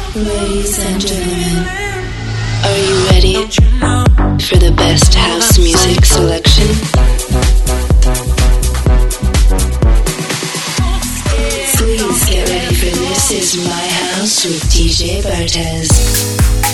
Ladies and gentlemen, are you ready for the best house music selection? Please get ready for This Is My House with DJ Bartez.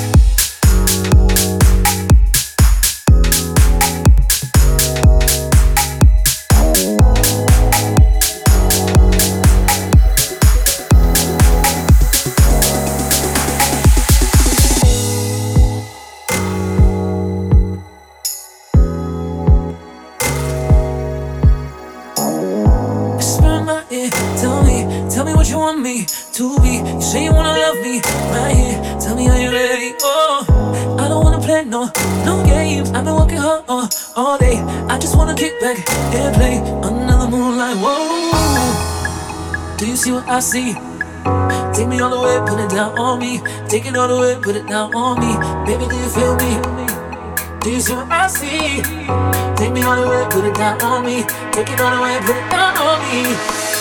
To be, you say you wanna love me right here. Tell me, are you ready? Oh, I don't wanna play no games. I've been working hard all day. I just wanna kick back and play under the moonlight. Whoa, do you see what I see? Take me all the way, put it down on me. Take it all the way, put it down on me. Baby, do you feel me? Do you see what I see? Take me all the way, put it down on me. Take it all the way, put it down on me.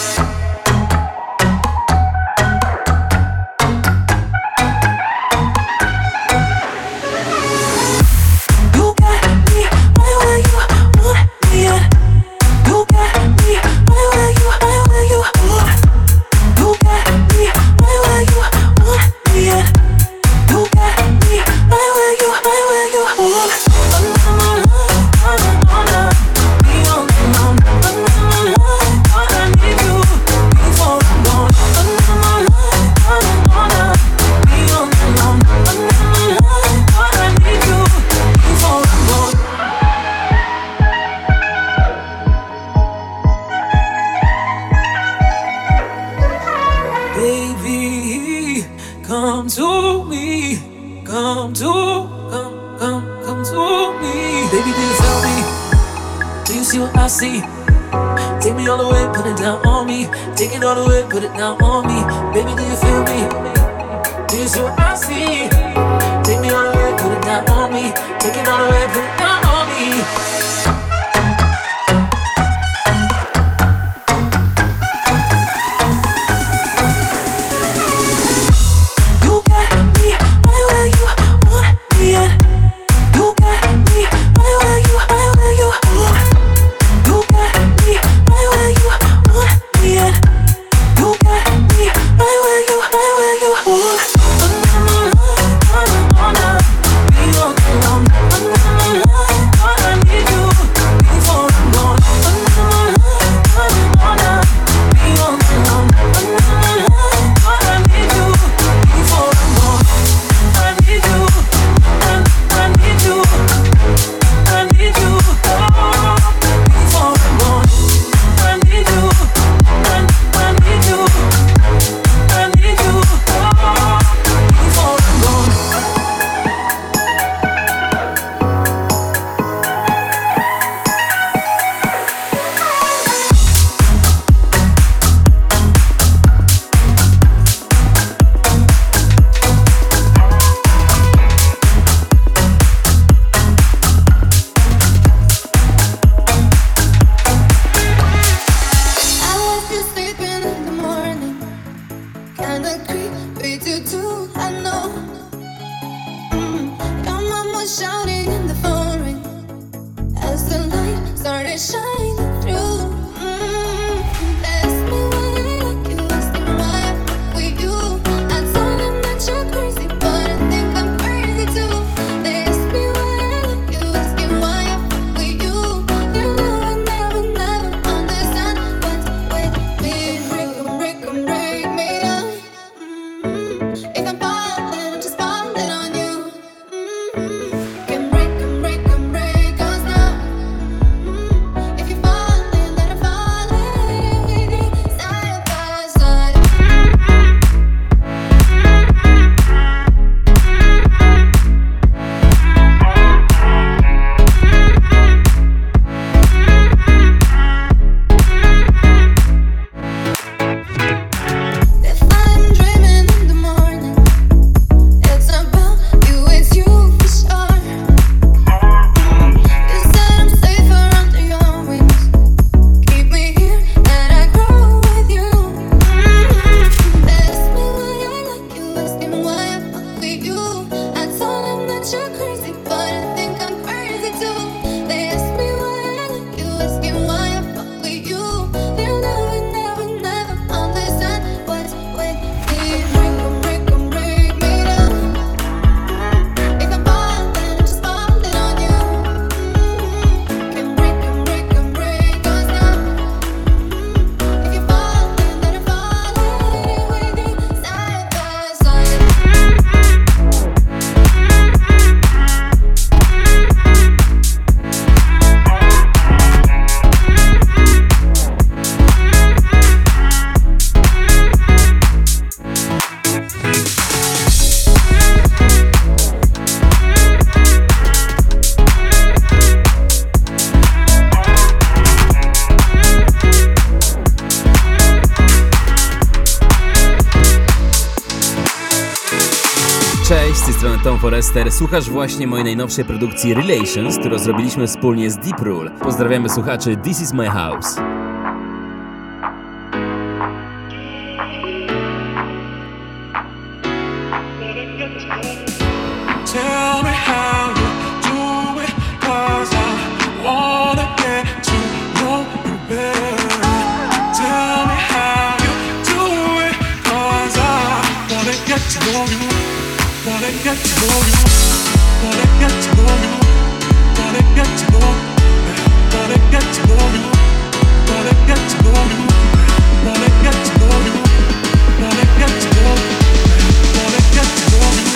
Take me all the way, put it down on me. Take it all the way, put it down on me. Baby, do you feel me? Do you see what I see? Take me all the way, put it down on me. Take it all the way, put it down on me. Can break, break us now. If you fall Cześć, z tej strony Tom Forester. Słuchasz właśnie mojej najnowszej produkcji Relations, którą zrobiliśmy wspólnie z Deep Rule. Pozdrawiamy słuchaczy This Is My House. Tell me how you do it, 'cause I wanna get to know you better. Tell me how you do it, 'cause I wanna get to know you. Wanna get to know you. Wanna get to know you. Wanna get to know you. Wanna get to know you. Wanna get to know you. Wanna get to know you. Wanna get to know you. Wanna get to know you.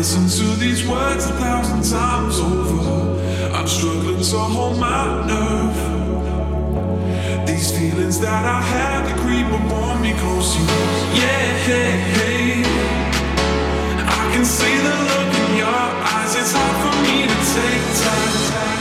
listened to these words 1,000 times over. I'm struggling to hold my nerve. These feelings that I have, they creep up on me close. Yeah, I can see the look in your eyes. It's hard for me to take time.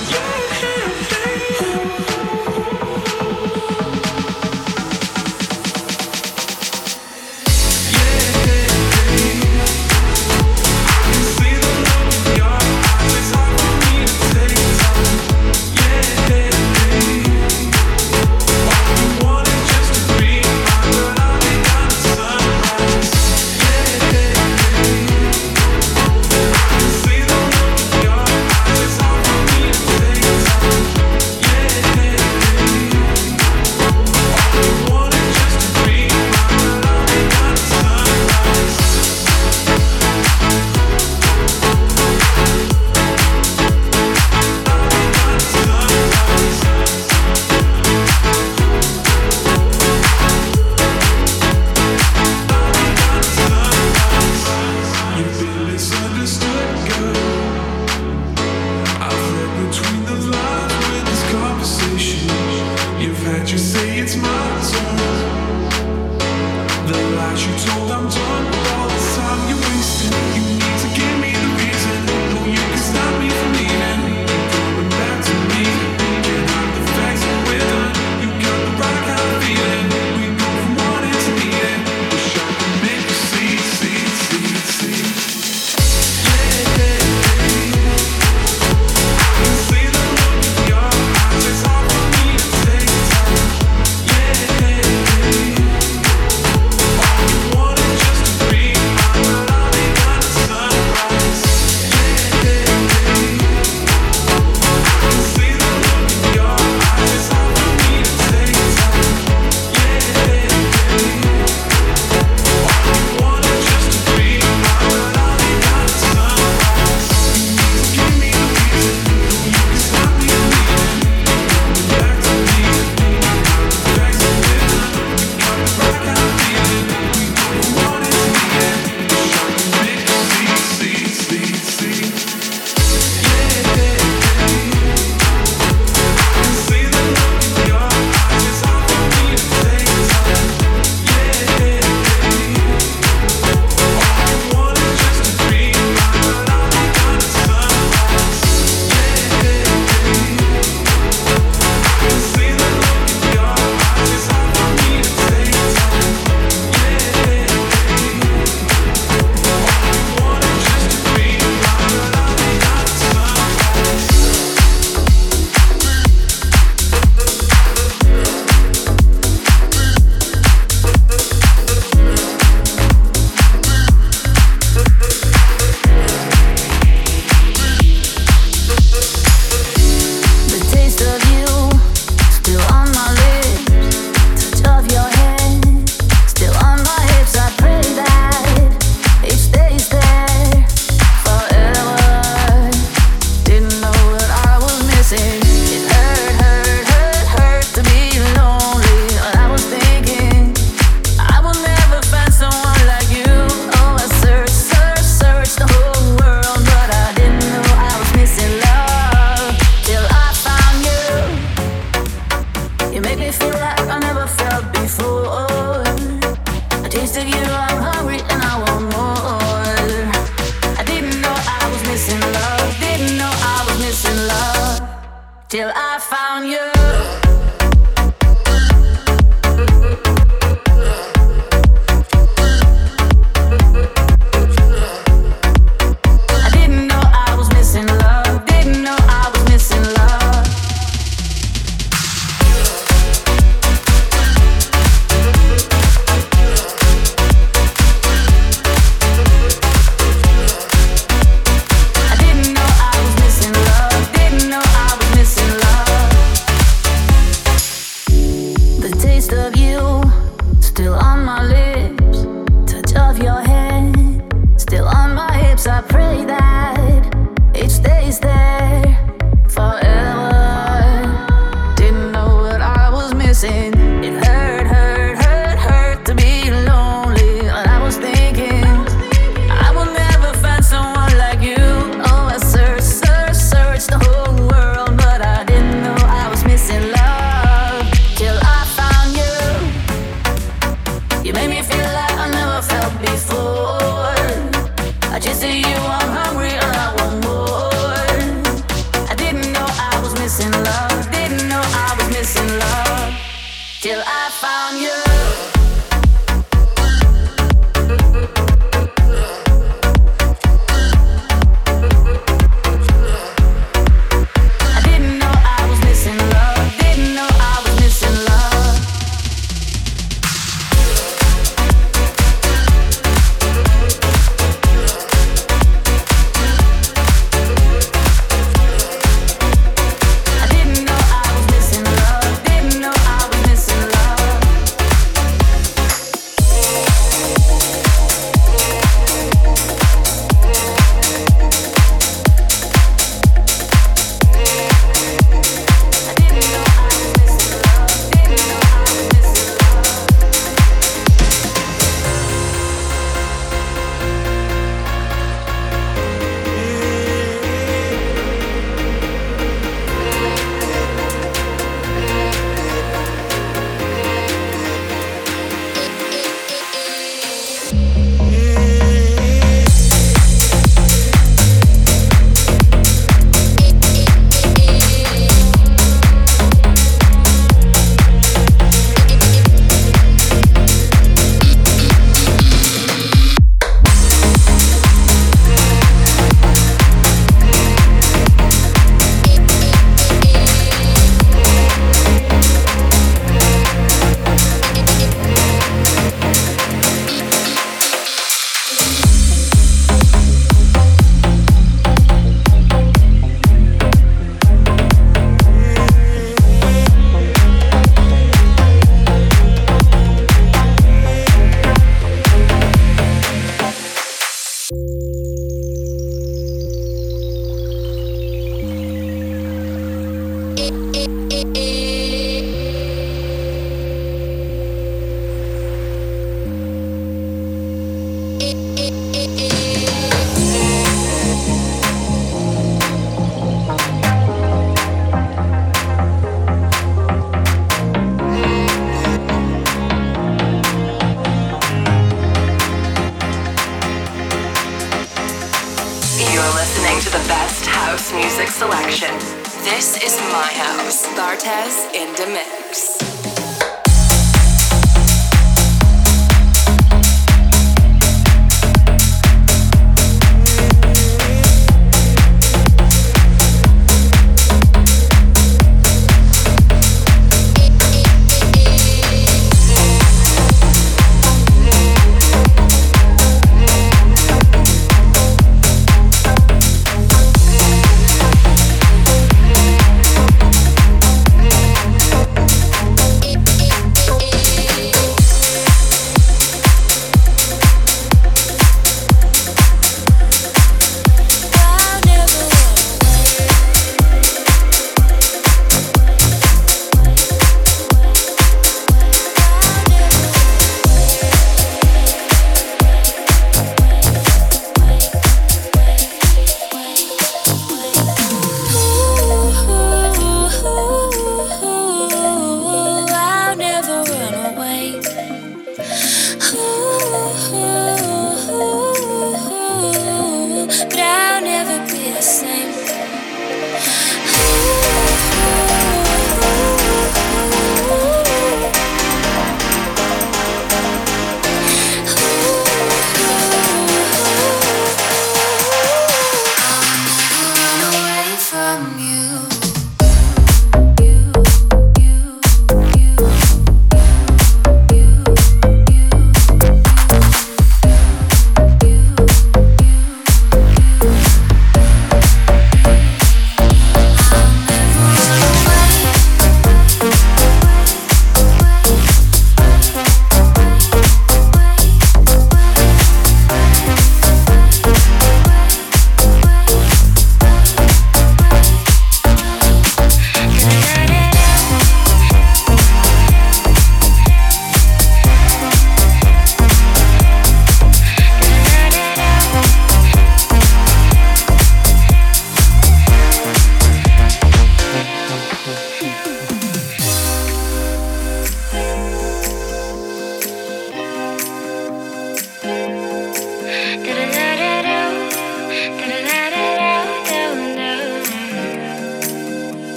Till I found you. To be lonely, and I was thinking I will never find someone till I found you. This is my house. Bartez in the mix.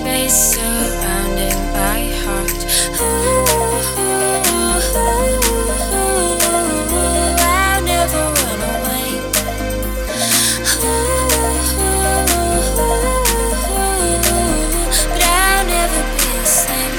space surrounding my heart. I'll never run away. But I'll never be the same.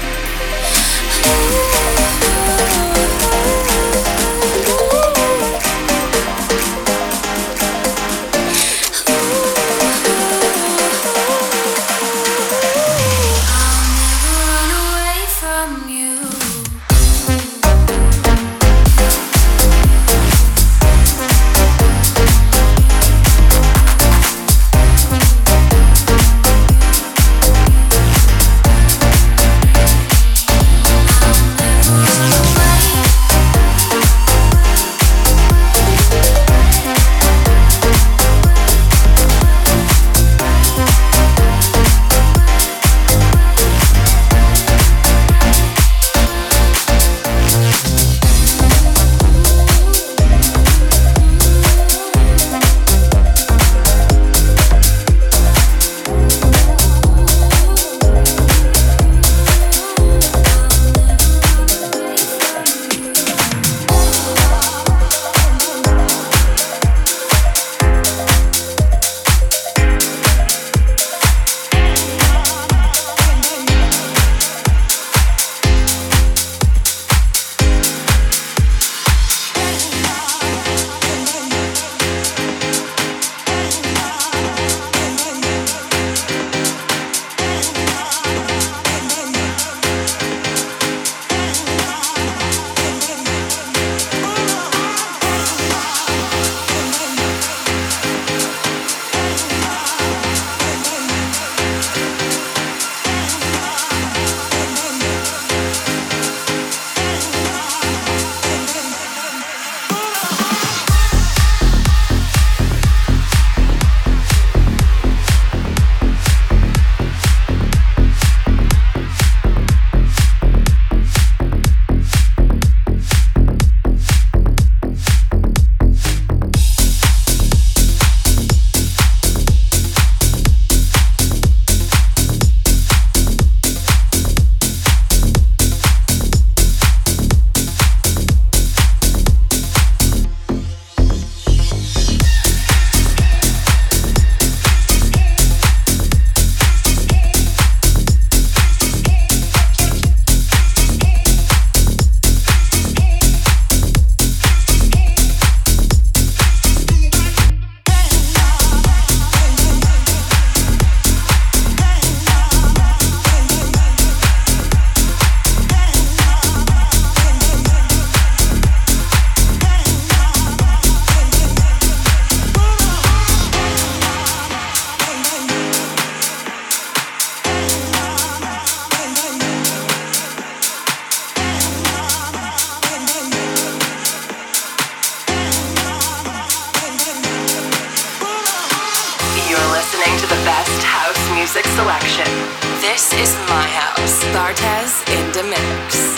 music selection. This is my house. Bartez in the mix.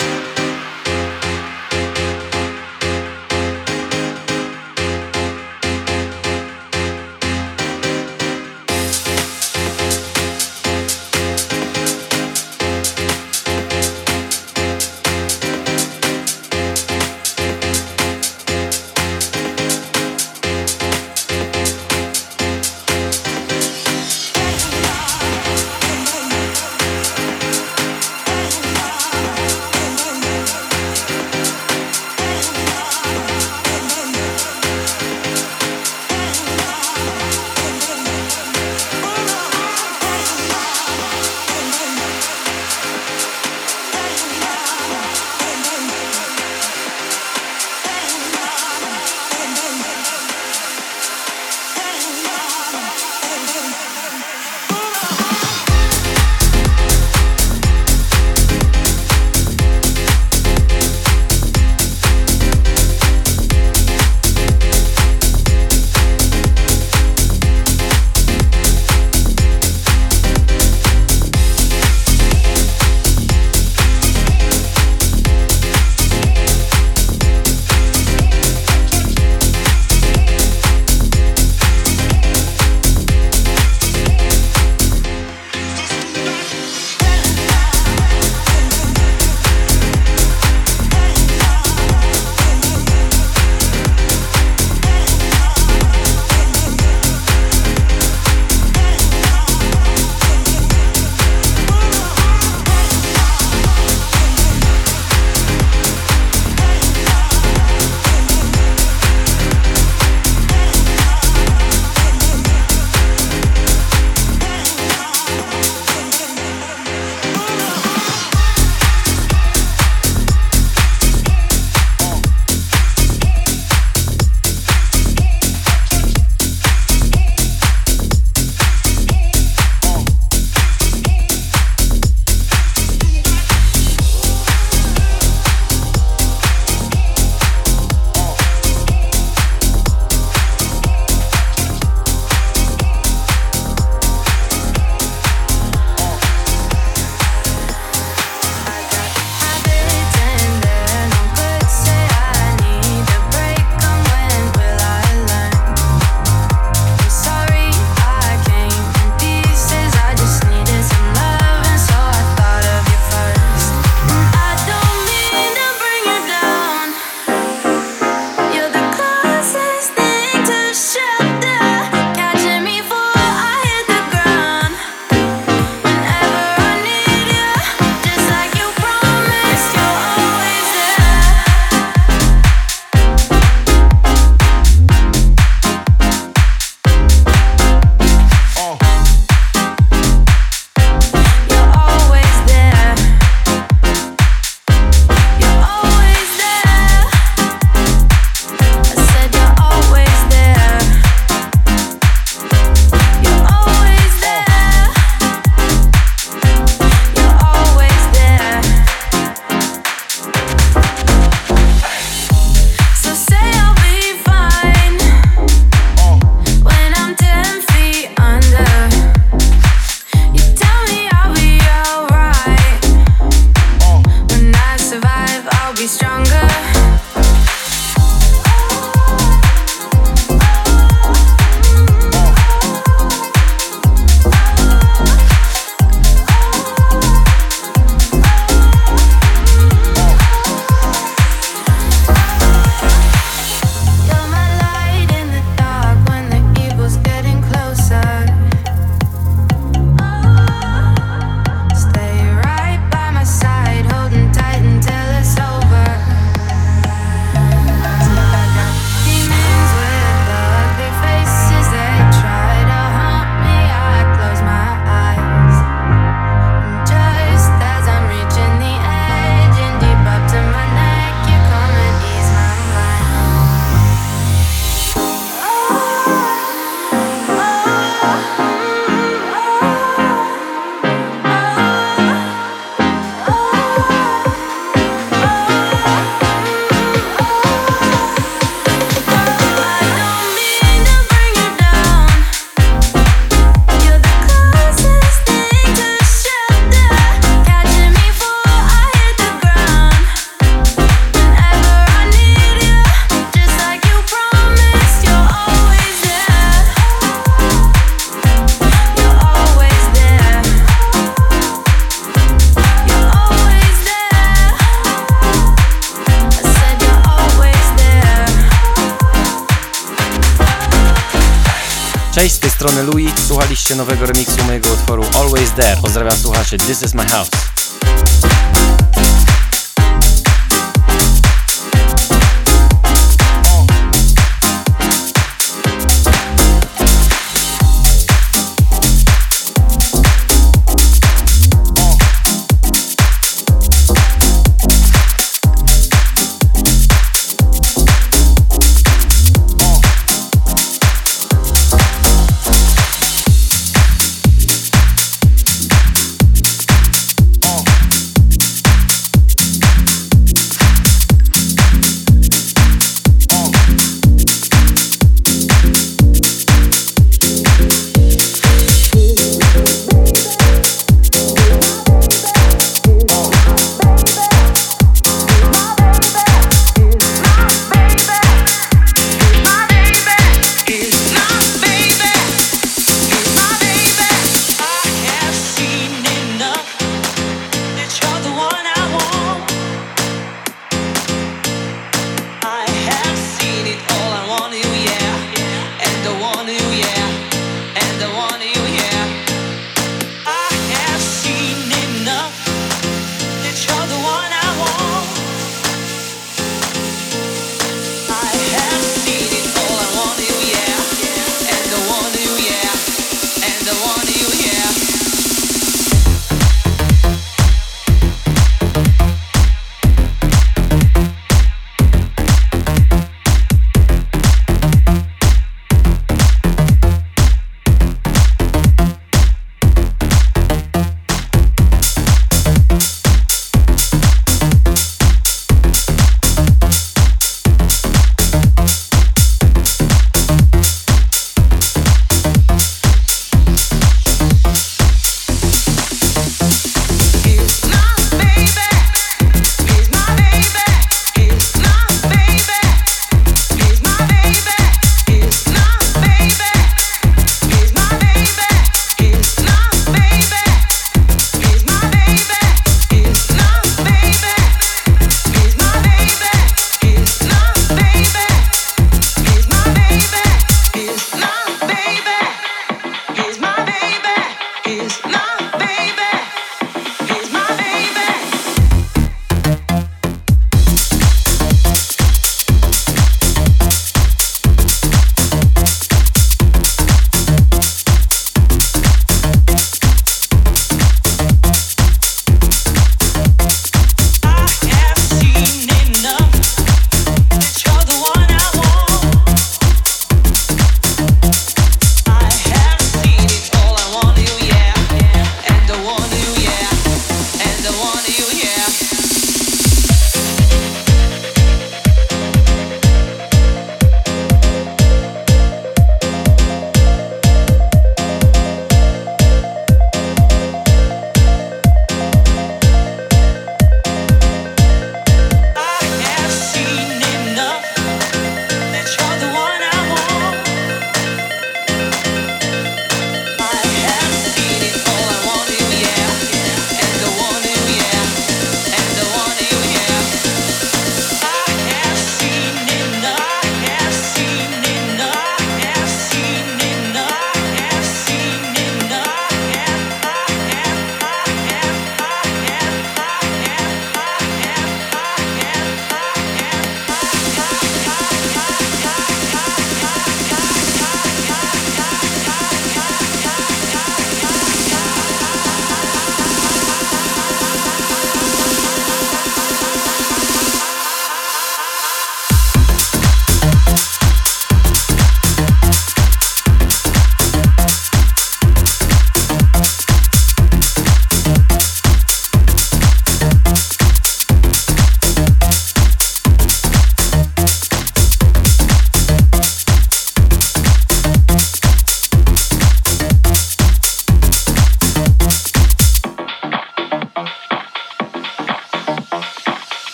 Cześć, z tej strony Louis. Słuchaliście nowego remiksu mojego utworu Always There. Pozdrawiam słuchaczy, This is my house.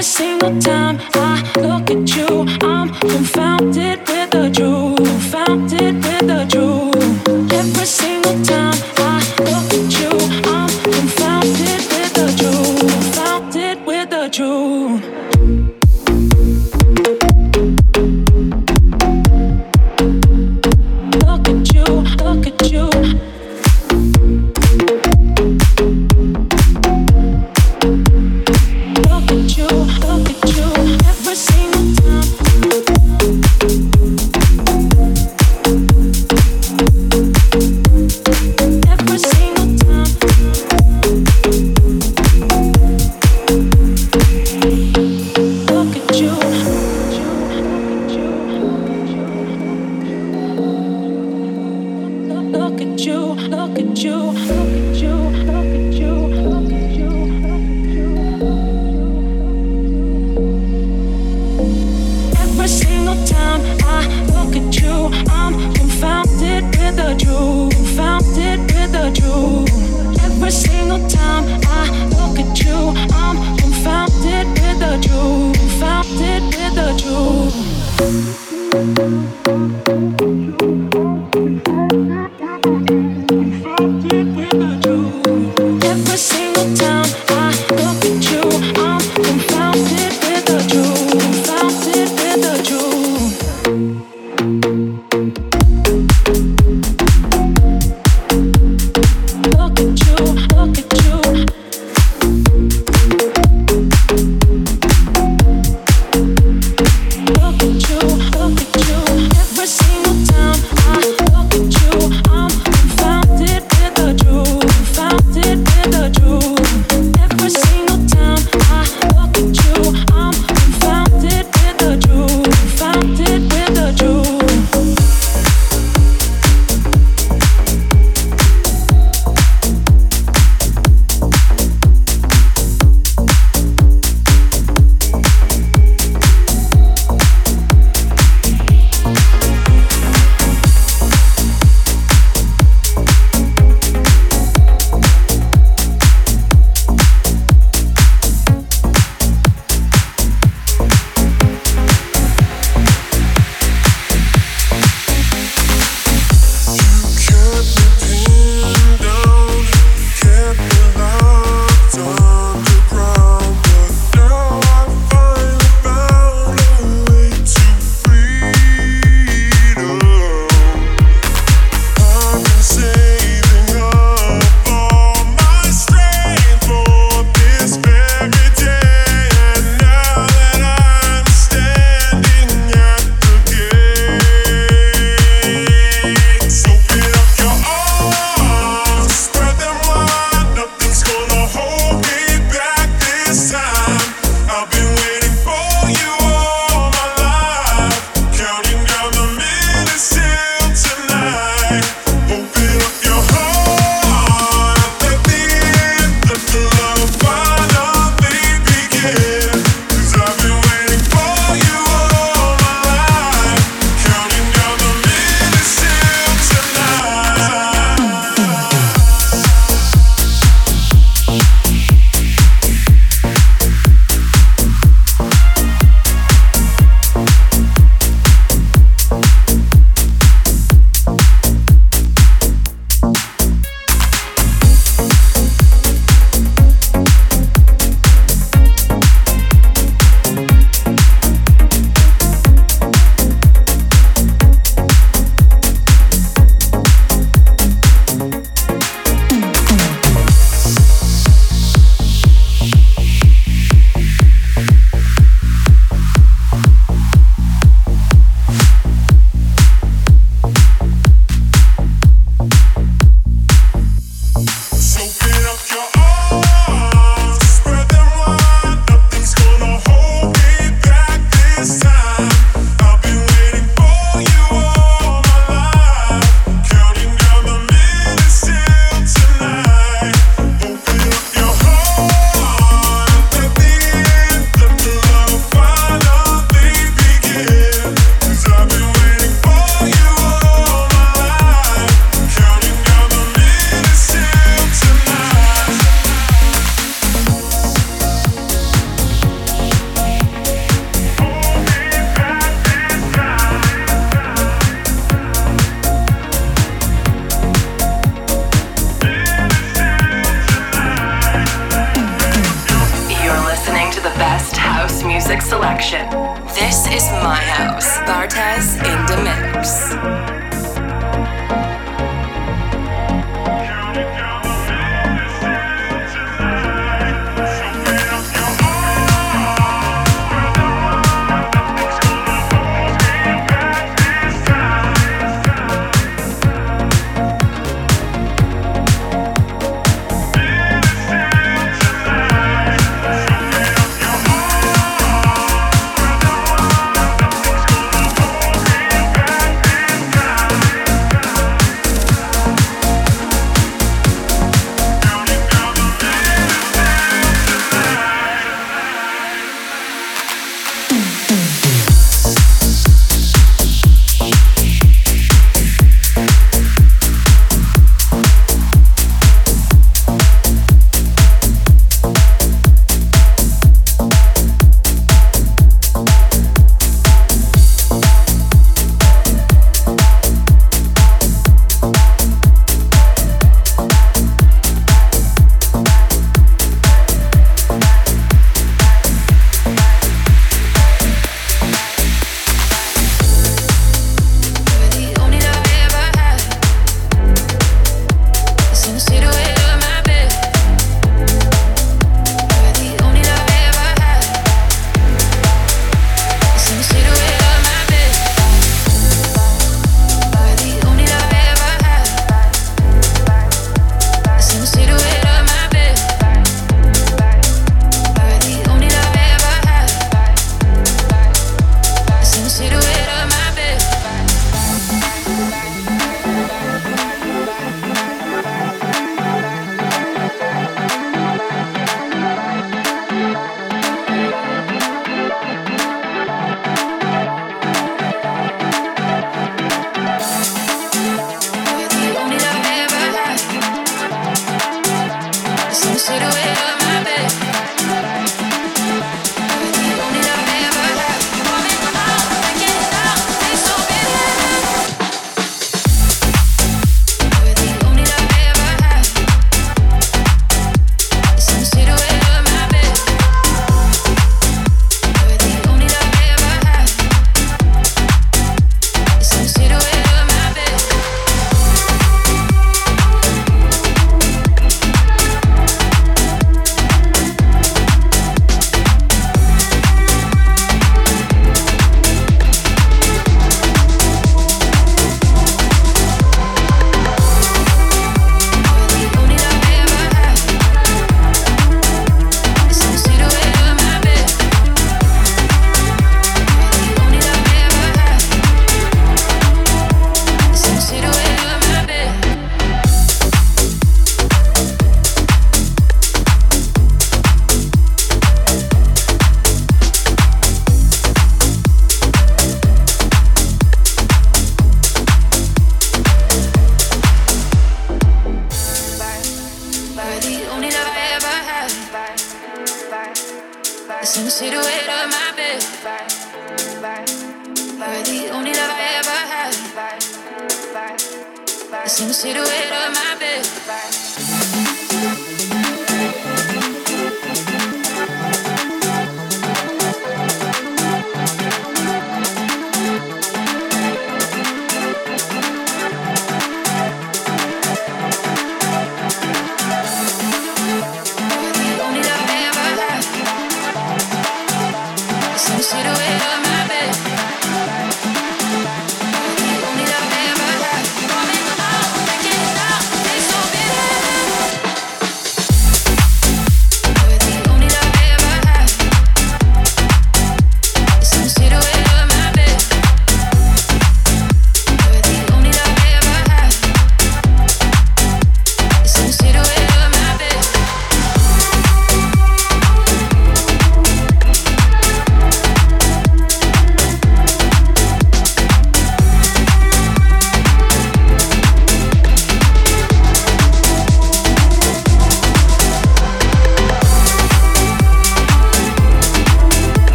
Every single time I look at you, I'm confounded with the truth. Confounded with the truth. Every single time I look at you, I'm confounded with the truth. Confounded with the truth. Look at you, look at you. Look at you, look at you. Every single time. Every single time. Look at you. Look at you, look at you, look at you, look at you, look at you, Every single time I look at you, I'm confounded with the truth. Confounded with the truth. Every single time I look at you, I'm confounded with the truth. Confounded with the truth. Every single time I look at you, I'm confounded with the truth. Confounded with the truth. Look at you, look at you. Look at you, look at you. Every single time I look at you, selection. This is my house. Bartez in the mix.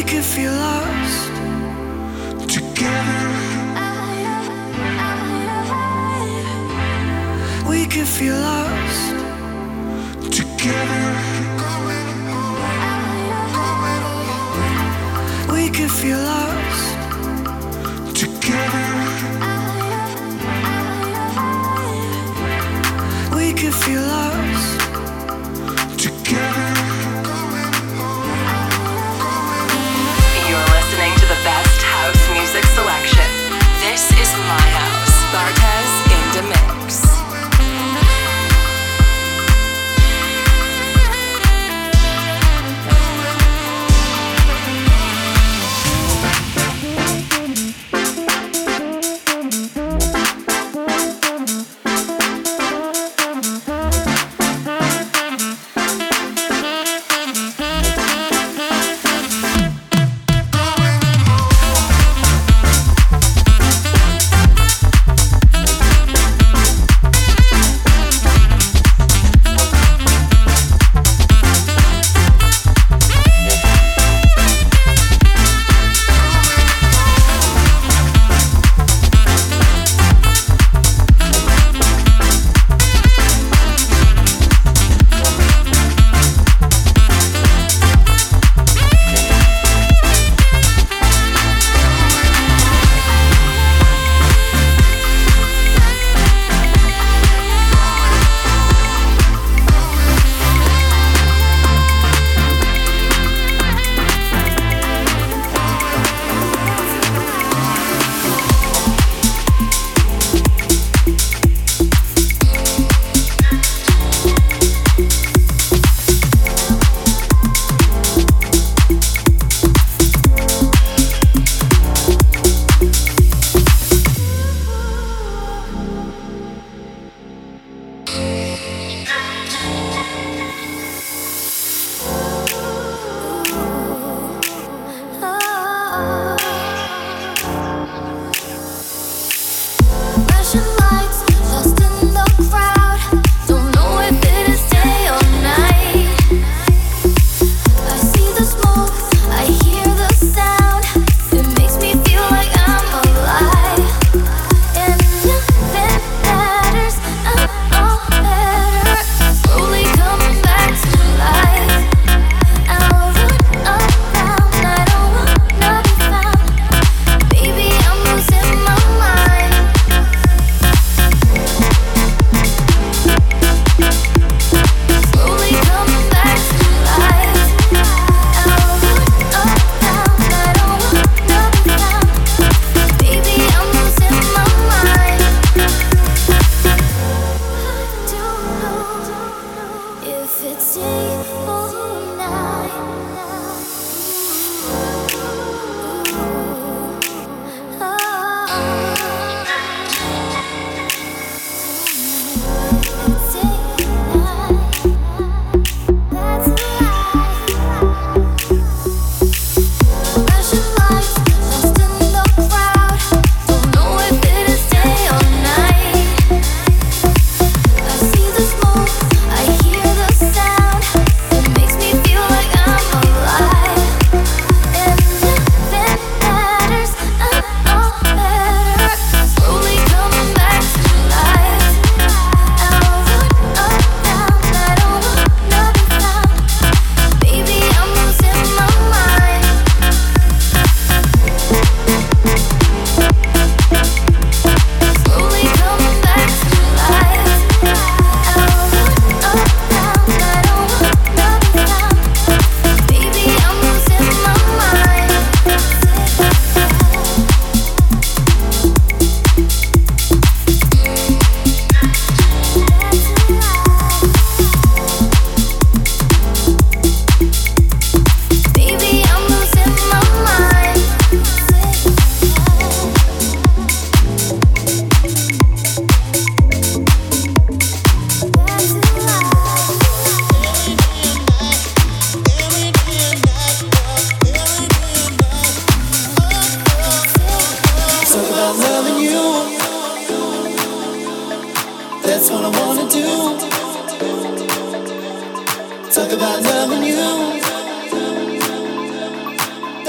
could feel lost together. We could feel lost Together. We could feel lost Together. We could feel lost Together. You're listening to the best house music selection. This is my house. Bartez in the mix.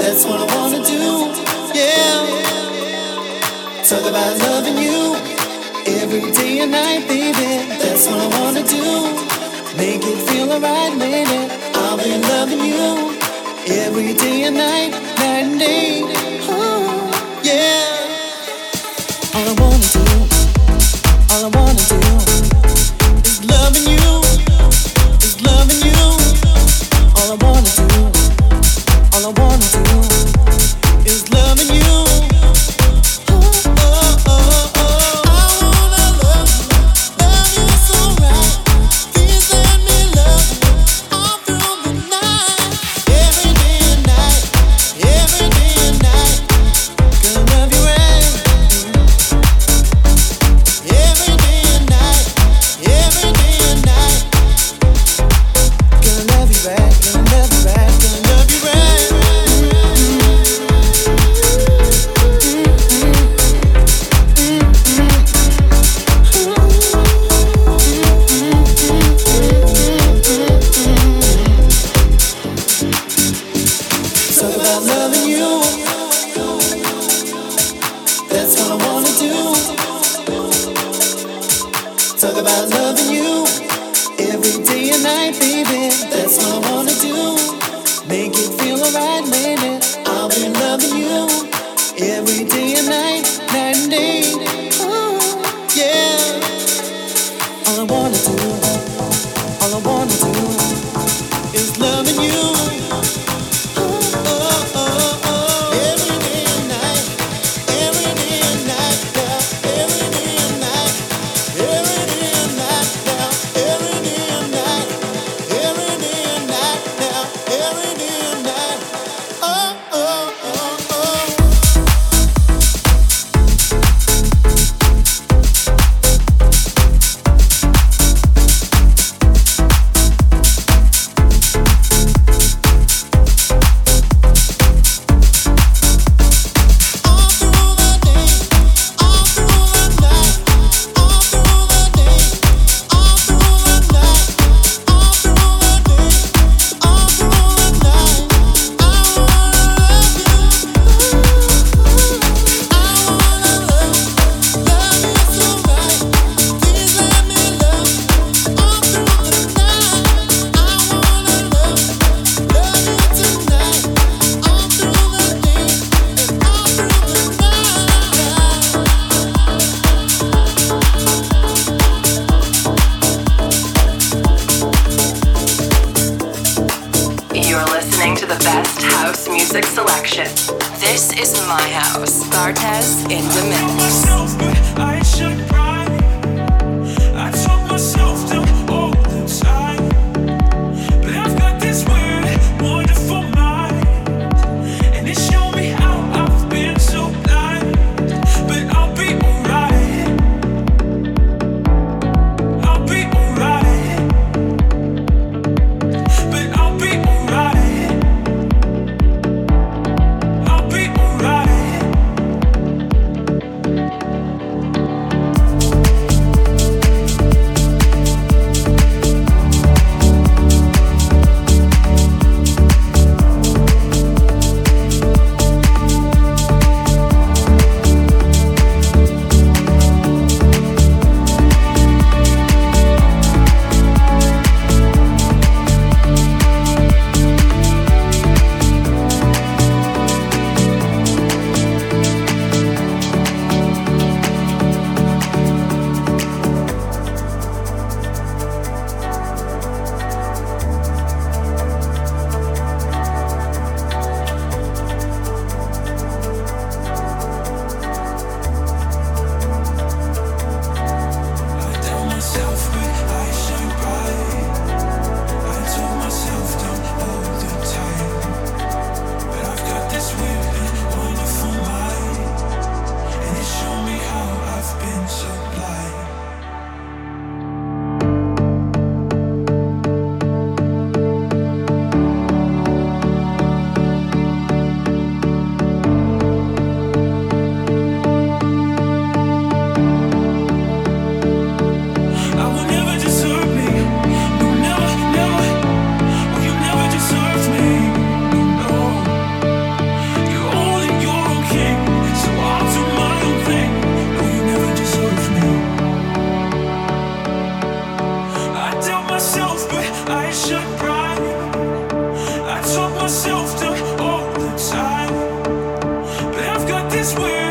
That's what I wanna do, yeah. Talk about loving you every day and night, baby. That's what I wanna do. Make it feel alright, baby. I'll be loving you every day and night, night and day. Oh, yeah. All I wanna do, all I wanna do is loving you, is loving you. All I wanna do, all I wanna do is loving you. Oh, oh, oh, oh. I wanna love you so right. Please let me love you all through the night, every day and night, every day and night. Gonna love you right, every day and night, every day and night. Gonna love you right, gonna love you right, gonna love you right. Talk about loving you. That's what I wanna do. Talk about loving you every day and night, baby. That's what I wanna do. Make it feel alright, baby. I'll be loving you every day and night, night and day. Oh, yeah. All I wanna do, all I wanna do is loving you. Oh, oh, oh, oh. Every day and night, every day and night, yeah. Every day and night, every day and night, yeah. Every day and night, every day and night, yeah. Every day and night. Oh, oh, oh, oh. All through the day, all through the night, all through the day, all through the night, all through the day, all through the night. I wanna love you. I wanna love you so right. Please let me love you all through the night. I wanna love you tonight, all through the day and all through the night. You're listening to the best house music selection. This is my house. Bartez in the mix. Myself, but I should cry. I told myself to all the time, but I've got this weird, wonderful mind, and it showed me how I've been so blind. But I'll be alright. I'll be alright. But I'll be alright. I'll be alright. is where